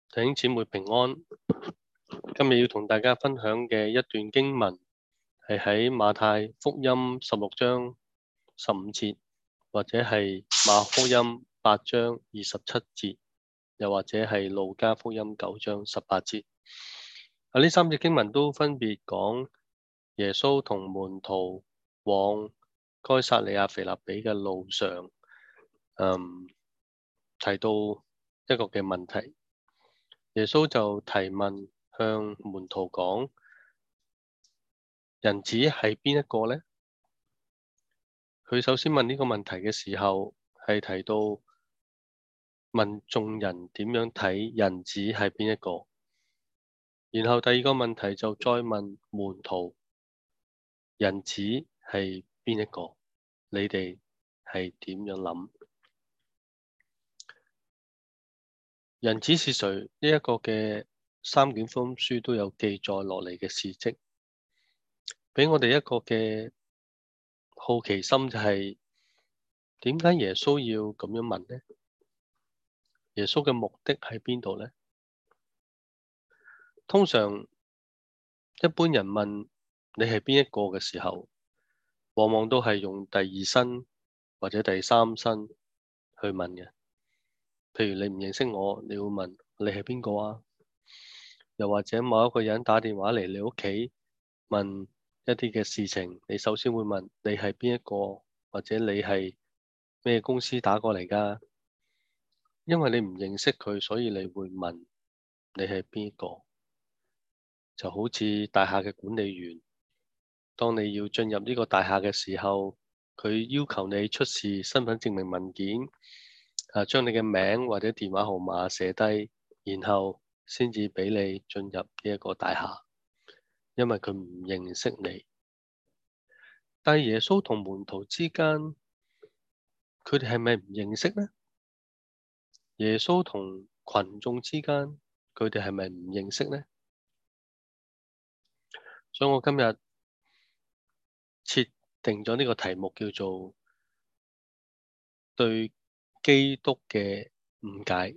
弟兄姊妹平安。今日要同大家分享嘅一段經文係喺馬太福音16章15節，或者係馬可福音8章27節，又或者係路加福音9章18節。呢三節經文都分別講耶穌同門徒往該撒利亞腓立比嘅路上，提到一個嘅問題。耶穌就提問向門徒講：人子係邊一個呢？佢首先問呢個問題嘅時候，係提到問眾人點樣睇人子係邊一個。然後第二個問題就再問門徒：人子係邊一個？你哋係點樣諗？人子是誰？呢一個嘅三卷福音書都有記載落嚟嘅事蹟，俾我哋一個嘅好奇心，就係點解耶穌要咁樣問呢？耶穌嘅目的喺邊度呢？通常一般人問你係邊一個嘅時候，往往都係用第二身或者第三身去問嘅。譬如你唔認識我，你會問你係邊個啊？又或者某一個人打電話嚟你屋企問一啲嘅事情，你首先會問你係邊一個，或者你係咩公司打過嚟㗎？因為你唔認識佢，所以你會問你係邊一個。就好似大廈嘅管理員，當你要進入呢個大廈嘅時候，佢要求你出示身份證明文件，將你嘅名或者電話號碼寫低，然後先至俾你進入呢一個大廈，因為佢唔認識你。但係耶穌同門徒之間，佢哋係咪唔認識呢？耶穌同群眾之間，佢哋係咪唔認識呢？所以我今日設定咗呢個題目，叫做對基督嘅誤解。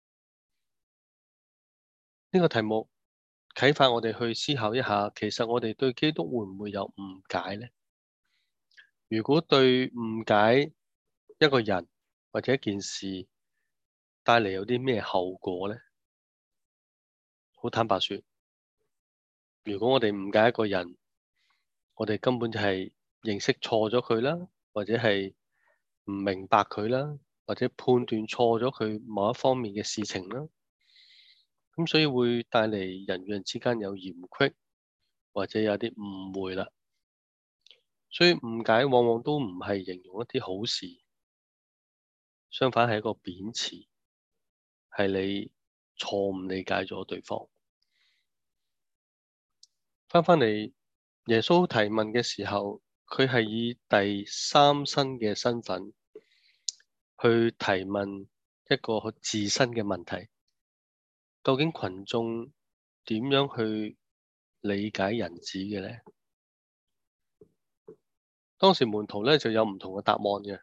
呢個題目啟發我哋去思考一下，其實我哋對基督會唔會有誤解呢？如果對誤解一個人或者一件事帶嚟有啲咩後果呢？好坦白說，如果我哋誤解一個人，我哋根本就係認識錯咗佢啦，或者係唔明白佢啦，或者判斷錯咗佢某一方面嘅事情啦，咁所以會帶嚟人與人之間有嫌隙，或者有啲誤會啦。所以誤解往往都唔係形容一啲好事，相反係一個貶詞，係你錯誤理解咗對方。返嚟，耶穌提問嘅時候，佢係以第三身嘅身份去提問一個自身嘅問題。究竟群眾點樣去理解人子嘅呢？當時門徒咧就有唔同嘅答案嘅。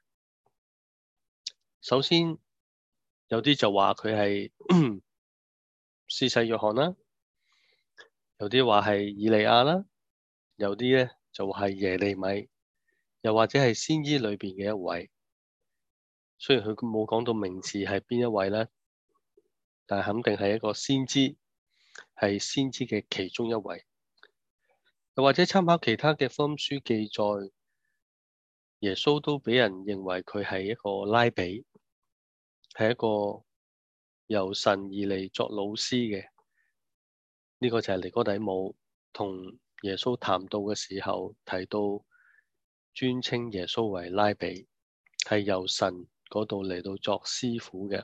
首先有啲就話佢係施洗約翰啦，有啲話係以利亞啦，有啲咧就話係耶利米，又或者係先知裏邊嘅一位。雖然佢冇講到名字係邊一位咧，但係肯定係一個先知，係先知嘅其中一位。又或者參考其他嘅福音書記載，耶穌都俾人認為佢係一個拉比，係一個由神而嚟作老師嘅。呢個就係尼哥底母同耶穌談到嘅時候提到，尊稱耶穌為拉比，係由神嗰度嚟到作師傅嘅。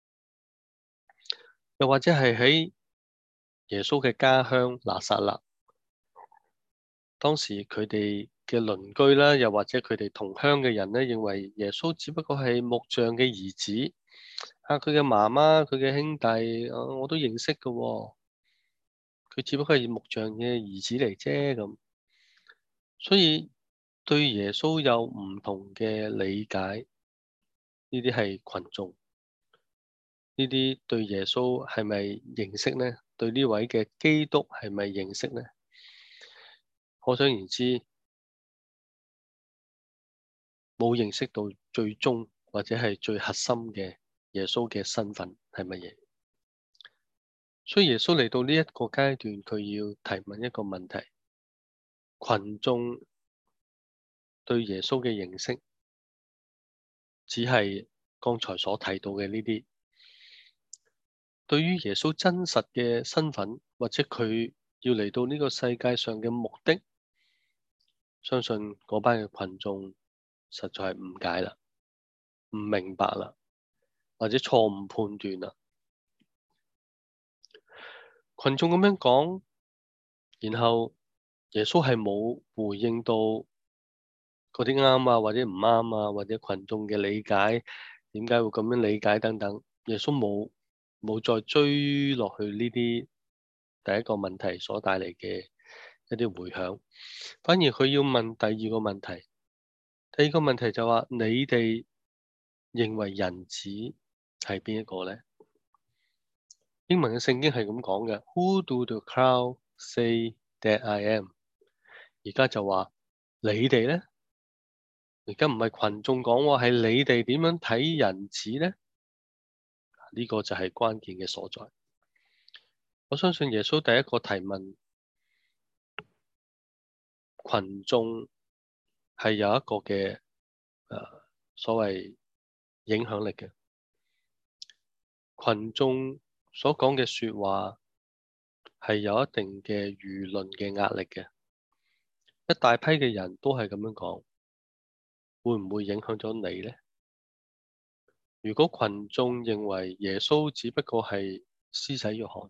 又或者係喺耶穌嘅家鄉拿撒勒，當時佢哋嘅鄰居啦，又或者佢哋同鄉嘅人咧，認為耶穌只不過係木匠嘅兒子，佢嘅媽媽、佢嘅兄弟，我都認識嘅喎，佢只不過係木匠嘅兒子嚟啫咁。所以對耶穌有唔同嘅理解，呢啲係群眾。 呢啲對耶穌係咪認識呢？對呢位嘅基督係咪認識呢？可想而知，冇認識到最終或者係最核心嘅耶穌嘅身份係乜嘢。所以耶穌嚟到呢一個階段，佢要提問一個問題：群眾對耶穌嘅認識，只係剛才所提到嘅呢啲。對於耶穌真實嘅身份，或者佢要嚟到呢個世界上嘅目的，相信嗰班嘅群眾實在係誤解啦，唔明白啦，或者錯誤判斷啦。群眾咁樣講，然後耶穌係冇回應到嗰啲啱啊，或者唔啱啊，或者群眾嘅理解，點解會咁樣理解等等。耶穌冇再追落去呢啲第一個問題所帶嚟嘅一啲迴響，反而佢要問第二個問題。第二個問題就話：你哋認為人子係邊一個呢？英文嘅聖經係咁講嘅：Who do the crowd say that I am？而家就話你哋呢？而家唔係群眾講喎，係你哋點樣睇人子呢？呢個就係關鍵嘅所在。我相信耶穌第一個提問群眾係有一個嘅所謂影響力嘅。群眾所講嘅說話係有一定嘅輿論嘅壓力嘅。一大批嘅人都係咁樣講，會唔會影響咗你呢？如果群眾認為耶穌只不過係施洗約翰，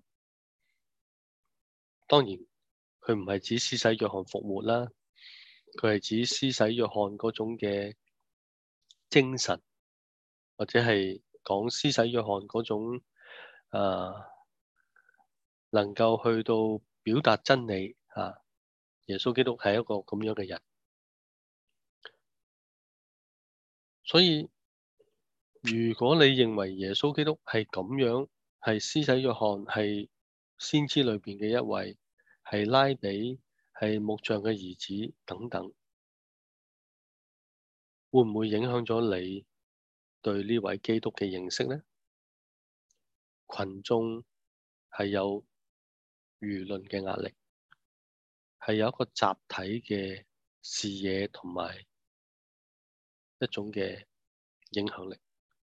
當然佢唔係指施洗約翰復活啦，佢係指施洗約翰嗰種嘅精神，或者係講施洗約翰嗰種能夠去到表達真理啊。耶穌基督係一個咁樣嘅人，所以如果你認為耶穌基督係咁樣，係施洗約翰，係先知裏邊嘅一位，係拉比，係木匠嘅兒子等等，會唔會影響咗你對呢位基督嘅認識呢？群眾係有輿論嘅壓力，係有一個集體嘅視野同埋一種嘅影響力。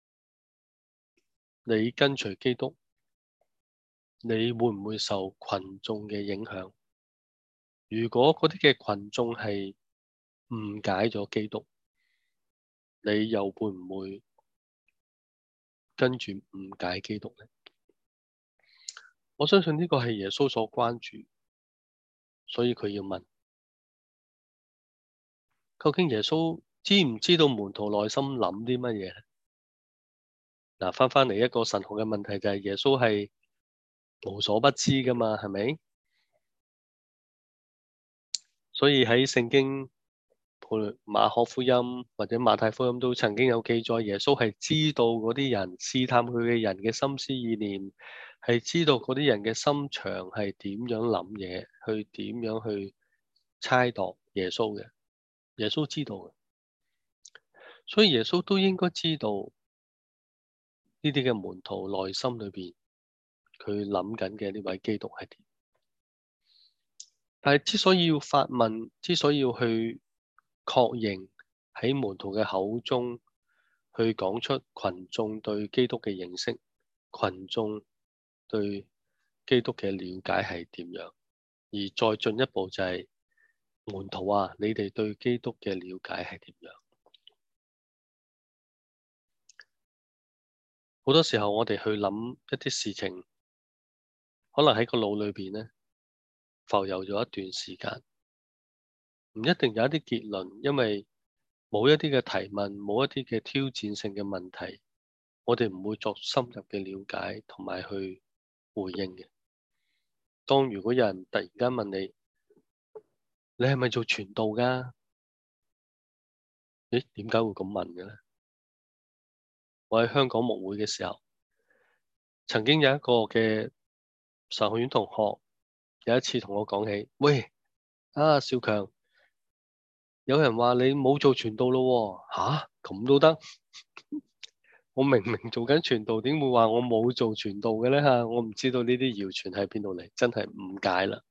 你跟隨基督，你會唔會受群眾嘅影響？如果嗰啲嘅群眾係誤解咗基督，你又會唔會跟住誤解基督呢？我相信呢個係耶穌所關注，所以佢要問：究竟耶穌知唔知道門徒內心諗啲乜嘢？嗱，翻嚟一個神學嘅問題就係耶穌係無所不知噶嘛，係咪？所以喺聖經馬可福音或者馬太福音都曾經有記載，耶穌係知道嗰啲人試探佢嘅人嘅心思意念，係知道嗰啲人嘅心腸係點樣諗嘢，去點樣去猜度耶穌嘅。耶穌知道嘅，所以耶穌都應該知道呢啲嘅門徒內心裏邊佢諗緊嘅呢位基督係點。但係之所以要發問，之所以要去確認喺門徒嘅口中去講出群眾對基督嘅認識，群眾對基督嘅了解係點樣，而再進一步就係門徒啊，你哋對基督嘅了解係點樣？好多時候我哋去諗一啲事情，可能喺個腦裏邊呢浮游咗一段時間，唔一定有一啲結論，因為冇一啲嘅提問，冇一啲嘅挑戰性嘅問題，我哋唔會作深入嘅了解同埋去回應嘅。當如果有人突然間問你，你係咪做傳道㗎？誒，點解會咁問嘅咧？我喺香港牧會嘅時候， 曾經有一個嘅神學院同學有一次同我講起，喂，少強，有人話你冇做傳道咯喎，吓，咁都得？我明明做緊傳道，點會話我冇做傳道嘅呢？吓？我唔知道呢啲謠傳喺邊度嚟，真係誤解啦。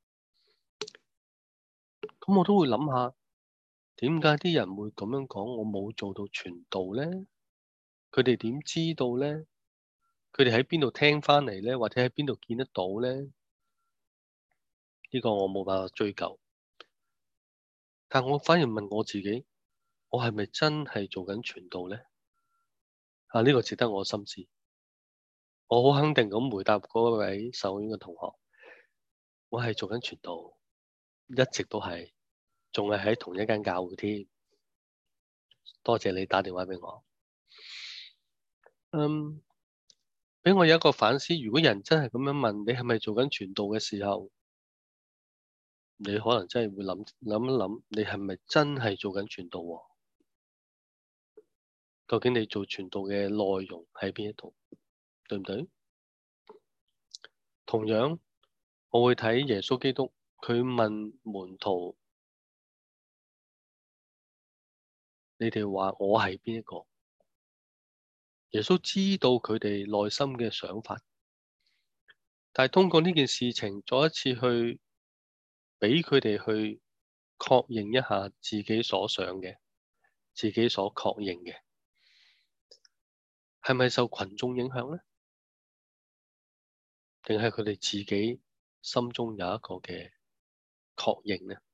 咁我都會諗下，點解啲人會咁樣講？我冇做到傳道呢？佢哋點知道呢？佢哋喺邊度聽翻嚟呢？或者喺邊度見得到呢？呢個我冇辦法追究。但我反而問我自己，我係咪真係做緊傳道呢？呢個值得我深思。我好肯定咁回答嗰位受院嘅同學，我係做緊傳道，一直都係，仲係喺同一間教會添。多謝你打電話俾我。俾我有一個反思。如果人真係咁樣問你係咪做緊傳道嘅時候，你可能真係會諗一諗，你係咪真係做緊傳道喎？究竟你做傳道嘅內容喺邊一度？對唔對？同樣，我會睇耶穌基督，佢問門徒：你哋話我係邊一個？耶穌知道佢哋內心嘅想法，但係通過呢件事情，再一次去俾佢哋去確認一下自己所想嘅，自己所確認嘅，係咪受群眾影響呢？定係佢哋自己心中有一個嘅確認呢？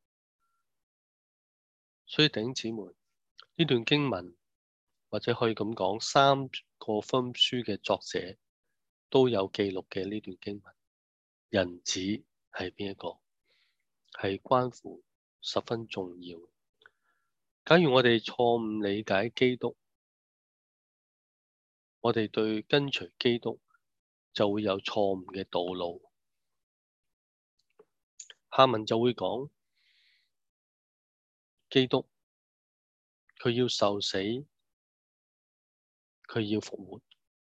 所以弟兄姊妹，呢段經文或者可以咁講，三個福音書嘅作者都有記錄嘅呢段經文。人子係邊一個？係關乎十分重要。假如我哋錯誤理解基督，我哋對跟隨基督就會有錯誤嘅道路。下文就會講基督，佢要受死，佢要復活。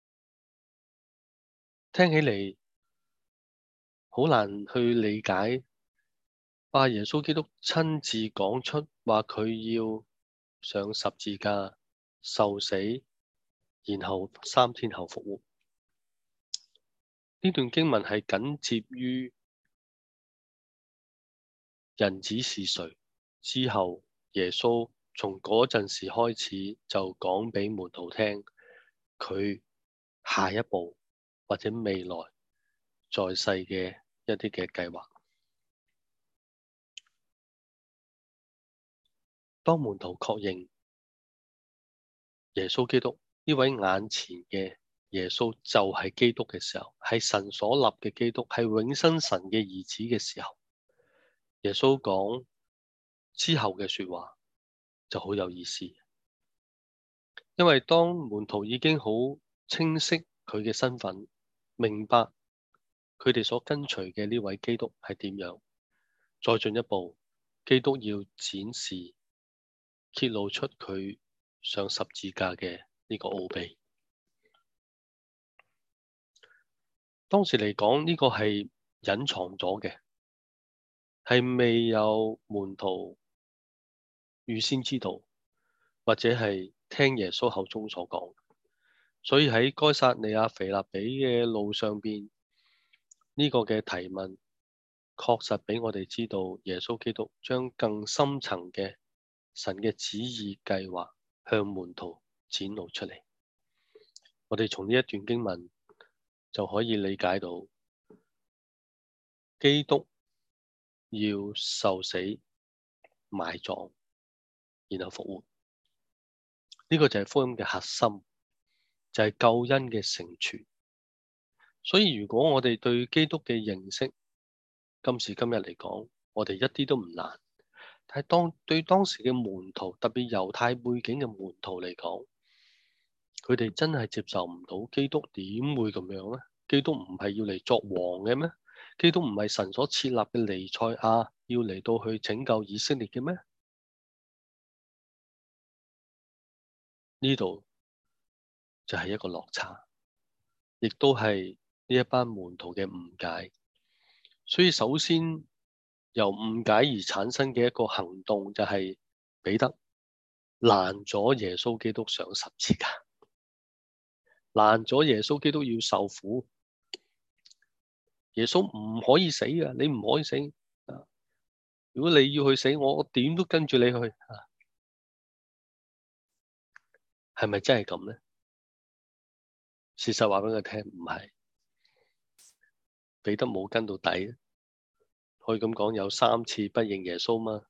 聽起嚟好難去理解。耶穌基督親自講出話佢要上十字架受死，然後3天後復活。呢段經文係緊接於人子是誰之後，耶穌從嗰陣時開始就講俾門徒聽，佢下一步或者未來在世嘅一啲嘅計劃。當門徒確認耶穌基督呢位眼前嘅耶穌就係基督嘅時候，係神所立嘅基督，係永生神嘅兒子嘅時候，耶穌講之後嘅說話就好有意思。因為當門徒已經好清晰佢嘅身份，明白佢哋所跟隨嘅呢位基督係點樣，再進一步，基督要展示揭露出佢上十字架嘅呢個奧秘。當時嚟講，呢個係隱藏咗嘅，係未有門徒預先知道，或者係聽耶穌口中所講。所以喺該撒利亞腓立比嘅路上邊，呢個嘅提問確實俾我哋知道，耶穌基督將更深層嘅神嘅旨意計劃向門徒展露出嚟。我哋從呢一段經文就可以理解到，基督要受死、埋葬，然後復活。呢個就係福音嘅核心，就係救恩嘅成全。所以如果我哋對基督嘅認識，今時今日嚟講，我哋一啲都唔難。但係對當時嘅門徒，特別猶太背景嘅門徒嚟講，佢哋真係接受唔到基督點會咁樣呢？基督唔係要嚟作王嘅咩？基督唔係神所設立嘅彌賽亞，要嚟到去拯救以色列嘅咩？呢度就係一個落差，亦都係呢一班門徒嘅誤解。所以首先由誤解而產生嘅一個行動就係彼得攔咗耶穌基督上十字架，攔咗耶穌基督要受苦。耶穌唔可以死㗎，你唔可以死。如果你要去死，我點都跟住你去。係咪真係咁呢？事實話俾佢聽，唔係。彼得冇跟到底，可以咁講，有3次不認耶穌嘛。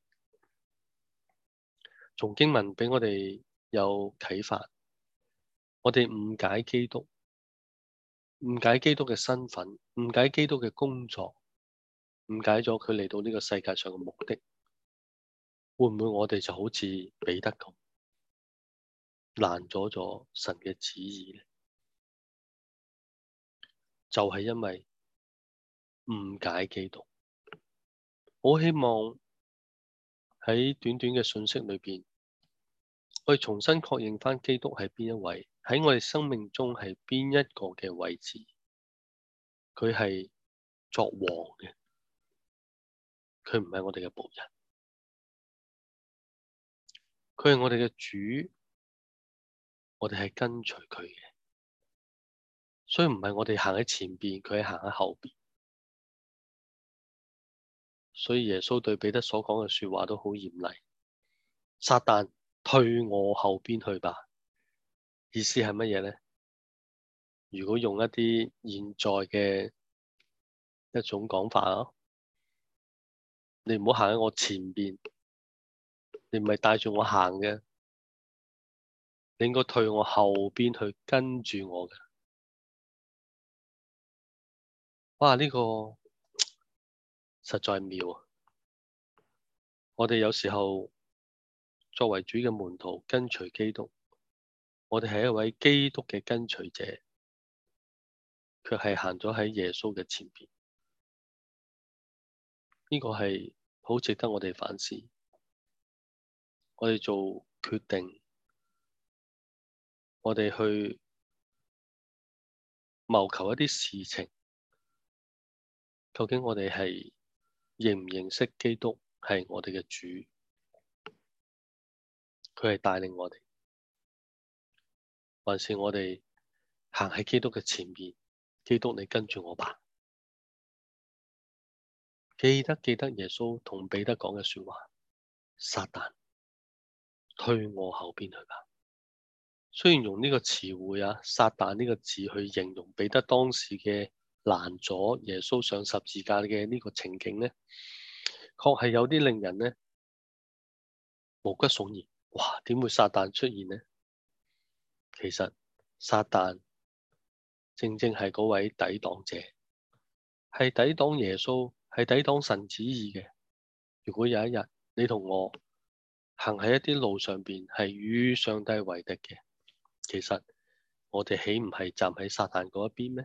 從經文俾我哋有啟發，我哋誤解基督，誤解基督嘅身份，誤解基督嘅工作，誤解咗佢嚟到呢個世界上嘅目的。會唔會我哋就好似彼得咁，攔阻咗神嘅旨意呢？就係因為誤解基督。我希望喺短短嘅信息裏邊，我哋重新確認返基督係邊一位，喺我哋生命中係邊一個嘅位置。佢係作王嘅，佢唔係我哋嘅僕人，佢係我哋嘅主，我哋係跟隨佢嘅，所以唔係我哋行喺前邊，佢係行喺後邊。所以耶穌對彼得所講嘅說話都好嚴厲，撒旦退我後邊去吧。意思係乜嘢呢？如果用一啲現在嘅一種講法啊，你唔好行喺我前邊，你唔係帶住我行嘅，你應該退我後邊去跟住我嘅。哇！呢個實在妙啊！我哋有時候作為主嘅門徒，跟隨基督，我哋係一位基督嘅跟隨者，卻係行咗喺耶穌嘅前邊。呢個係好值得我哋反思。我哋做決定，我哋去謀求一啲事情，究竟我哋係認唔認識基督係我哋嘅主？佢係帶領我哋，還是我哋行喺基督嘅前面？基督，你跟住我吧。記得耶穌同彼得講嘅說話，撒旦退我後邊去吧。雖然用呢個詞彙啊，撒旦呢個字去形容彼得當時嘅攔阻耶穌上十字架嘅呢個情景呢，確係有啲令人呢毛骨悚然。哇，點會撒旦出現呢？其實撒旦正正係嗰位抵擋者，係抵擋耶穌，係抵擋神旨意嘅。如果有一日你同我行喺一啲路上邊係與上帝為敵嘅，其實我哋豈唔係站喺撒旦嗰一邊咩？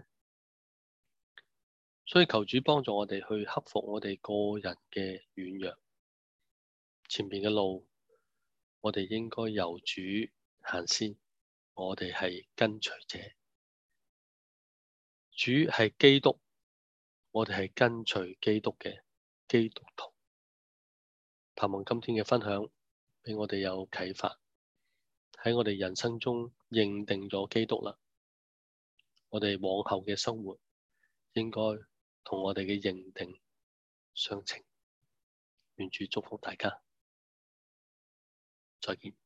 所以求主幫助我哋去克服我哋個人嘅軟弱。前面嘅路，我哋應該由主行先。我哋係跟隨者，主係基督，我哋係跟隨基督嘅基督徒。盼望今天嘅分享俾我哋有啟發，喺我哋人生中認定咗基督啦。我哋往後嘅生活應該同我哋嘅認定相稱。願主祝福大家，再見。